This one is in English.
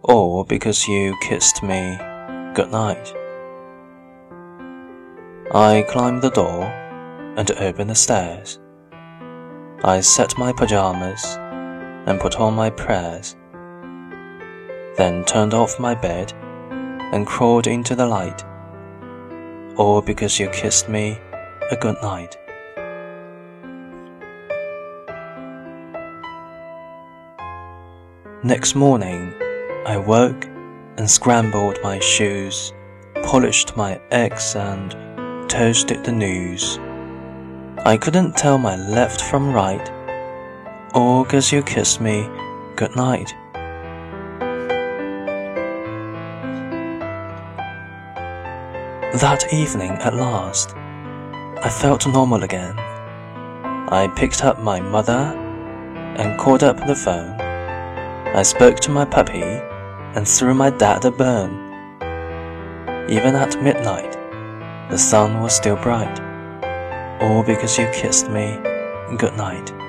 Or because you kissed me goodnight. I climbed the door and opened the stairs. I set my pajamas and put on my prayers, then turned off my bed and crawled into the light. All because you kissed me a good night. Next morning, I woke and scrambled my shoes, polished my eggs and toasted the news. I couldn't tell my left from right, all 'cause you kissed me good night. That evening at last, I felt normal again. I picked up my mother and called up the phone. I spoke to my puppy and threw my dad a bone. Even at midnight, the sun was still bright, all because you kissed me good night.